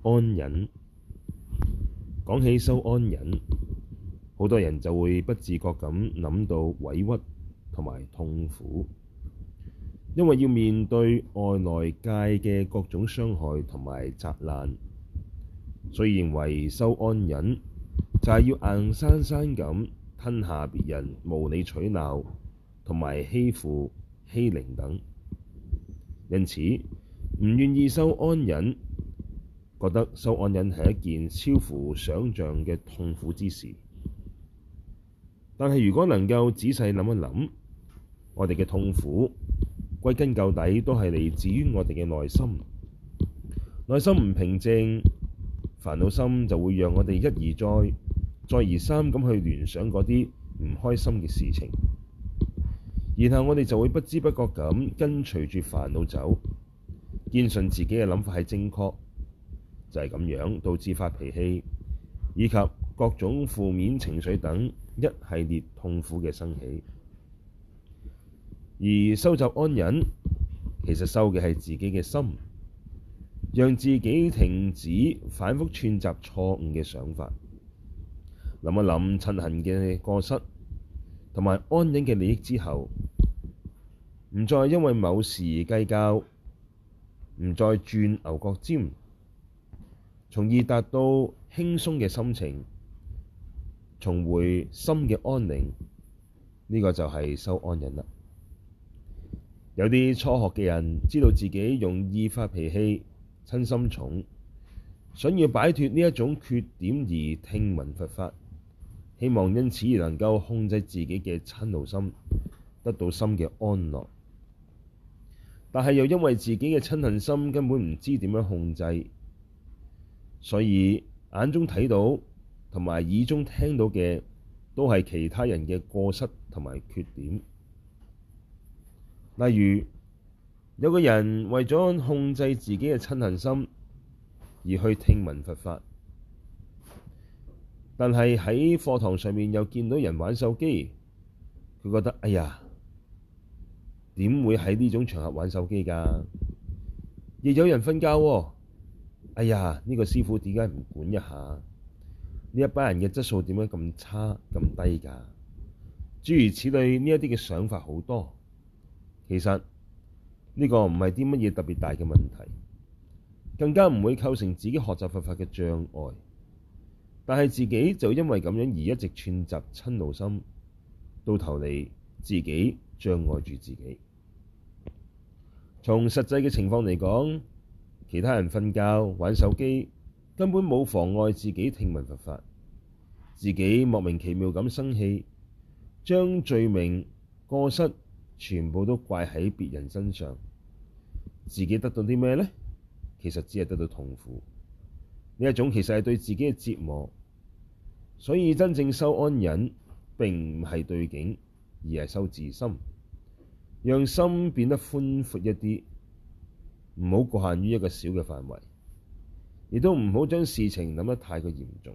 安忍。講起修安忍，好多人就會不自覺咁諗到委屈同埋痛苦，因為要面對外來界嘅各種傷害同埋責難，所以認為修安忍就係要硬生生咁吞下別人無理取鬧同埋欺負欺凌等，因此唔願意修安忍，覺得修安忍係一件超乎想像嘅痛苦之事。但係如果能夠仔細諗一諗，我哋嘅痛苦歸根究底都係嚟自於我哋嘅內心。內心唔平靜，煩惱心就會讓我哋一而再、再而三咁去聯想嗰啲唔開心嘅事情，然後我哋就會不知不覺咁跟隨住煩惱走，堅信自己嘅諗法係正確，就係咁樣導致發脾氣以及各種負面情緒等一系列痛苦嘅生起。而修習安忍，其實修嘅係自己嘅心，讓自己停止反覆串習錯誤嘅想法，諗一諗嗔恨嘅過失同埋安忍嘅利益之後，唔再因為某事而計較，唔再鑽牛角尖，從而達到輕鬆嘅心情，重回心嘅安寧。呢個就係修安忍啦。有啲初學嘅人知道自己容易發脾氣、瞋心重，想要擺脫呢一種缺點而聽聞佛法，希望因此而能夠控制自己嘅瞋怒心，得到心嘅安樂。但係又因為自己嘅瞋恨心根本唔知點樣控制，所以眼中睇到同埋耳中聽到嘅都係其他人嘅過失同埋缺點。例如，有個人為咗控制自己嘅瞋恨心而去聽聞佛法，但係喺課堂上面又見到人玩手機，佢覺得哎呀，點會喺呢種場合玩手機㗎？亦有人瞓覺喎，哎呀，呢個師父點解唔管一下？呢一班人嘅質素點解咁差咁低㗎？諸如此類，呢一啲嘅想法好多。其實呢個唔係啲乜嘢特別大嘅問題，更加唔會構成自己學習佛法嘅障礙。但係自己就因為咁樣而一直串習瞋怒心，到頭嚟自己障礙住自己。從實際嘅情況嚟講，其他人瞓覺玩手機根本冇妨礙自己聽聞佛法，自己莫名其妙咁生氣，將罪名過失全部都怪喺別人身上，自己得到啲咩呢？其實只係得到痛苦。呢一種其實係對自己嘅折磨。所以真正修安忍並唔係對境，而係修自心，讓心變得寬闊一啲，唔好局限於一個小嘅範圍，亦都唔好將事情諗得太過嚴重。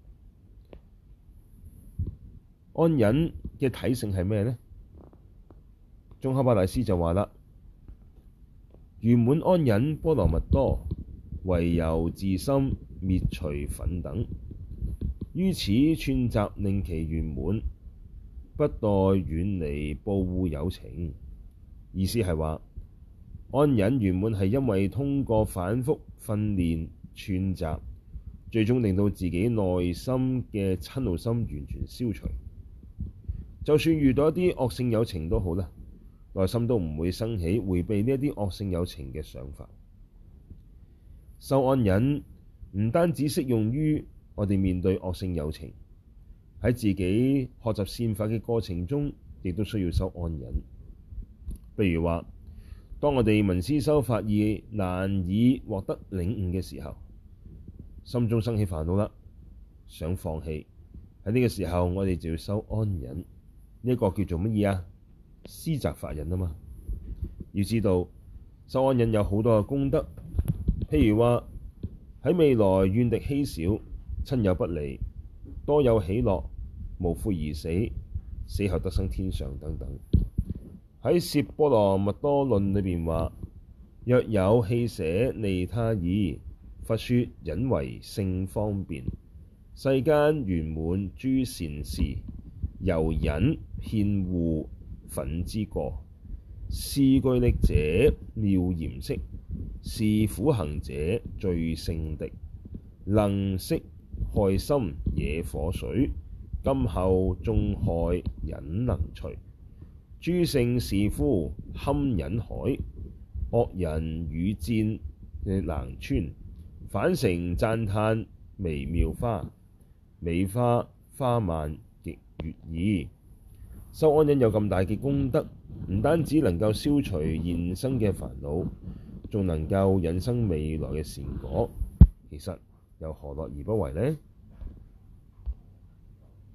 安忍嘅體性係咩呢？宗喀巴大師就話啦：圓滿安忍波羅蜜多，唯由自心滅除忿等，於此串習令其圓滿，不待遠離怖惡有情。意思係話，安忍圓滿係因為通過反覆訓練串習，最終令到自己內心嘅瞋怒心完全消除。就算遇到一啲惡性有情都好啦，內心都唔會生起迴避呢一啲惡性有情嘅想法。修安忍唔單止適用於我哋面對惡性有情，喺自己學習善法嘅過程中，亦都需要修安忍。譬如話，當我哋聞思修法而難以獲得領悟嘅時候，心中生起煩惱啦，想放棄，喺呢個時候我哋就要修安忍。呢一個叫做乜嘢啊？思擇法忍啊嘛。要知道修安忍有好多嘅功德，譬如話喺未來怨敵稀少，親友不離，多有喜樂，無悔而死，死後得生天上等等。喺《攝波羅蜜多論》裏邊話：若有棄捨利他意， 佛說忍為勝方便，世間圓滿諸善事，由忍遍護忿之過。是具力者妙嚴飾，是苦行者最勝敵。能息害心野火水，今後眾害忍能除。諸聖士夫堪忍海，惡人與戰難穿。返城讚歎微妙花，美花花曼極悅意。修安忍有咁大嘅功德，唔單止能夠消除現生嘅煩惱，仲能夠引生未來嘅善果，其實又何樂而不為呢？